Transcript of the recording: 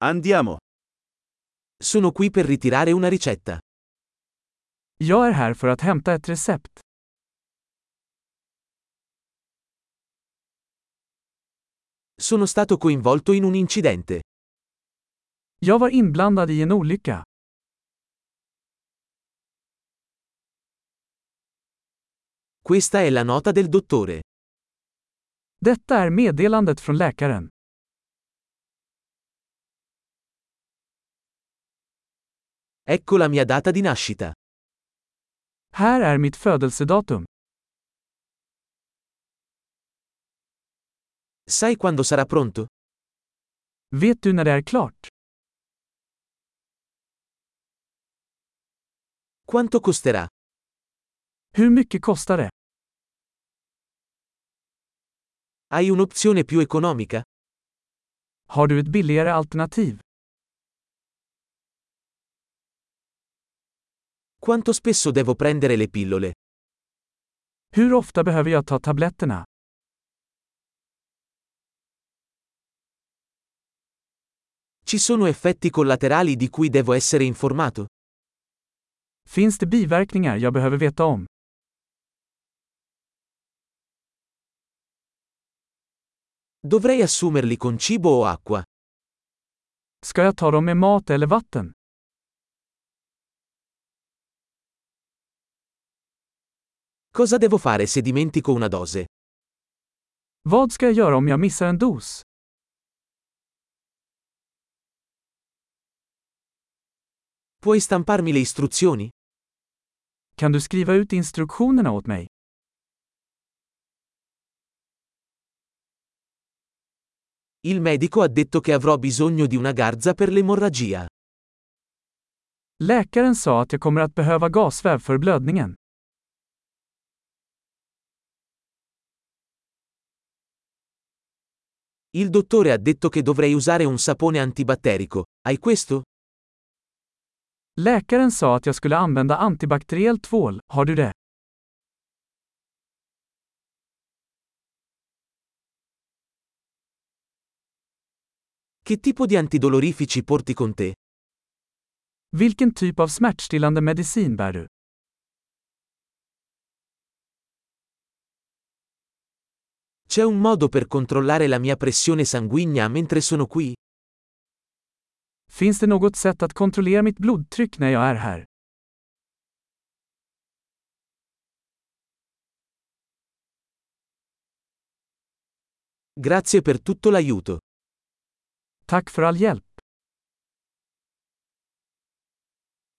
Andiamo. Sono qui per ritirare una ricetta. Jag är här för att hämta ett recept. Sono stato coinvolto in un incidente. Jag var inblandad i en olycka. Questa è la nota del dottore. Detta är meddelandet från läkaren. Ecco la mia data di nascita. Här är mitt födelsedatum. Sai quando sarà pronto? Vet du när det är klart? Quanto costerà? Hur mycket kostar det? Hai un'opzione più economica? Har du ett billigare alternativ? Quanto spesso devo prendere le pillole? Hur ofta behöver jag ta tabletterna? Ci sono effetti collaterali di cui devo essere informato? Finns det biverkningar jag behöver veta om? Dovrei assumerli con cibo o acqua? Ska jag ta dem med mat eller vatten? Cosa devo fare se dimentico una dose? Vad ska jag göra om jag missar en dos? Puoi stamparmi le istruzioni? Kan du skriva ut instruktionerna åt mig? Il medico ha detto che avrò bisogno di una garza per l'emorragia. Läkaren sa att jag kommer att behöva gasväv för blödningen. Il dottore ha detto che dovrei usare un sapone antibatterico. Hai questo? Läkaren sa att jag skulle använda antibakteriell tvål, har du det? Che tipo di antidolorifici porti con te? Vilken typ av smärtstillande medicin bär du? C'è un modo per controllare la mia pressione sanguigna mentre sono qui? Finns det något sätt att kontrollera mitt blodtryck när jag är här? Grazie per tutto l'aiuto. Tack för all hjälp.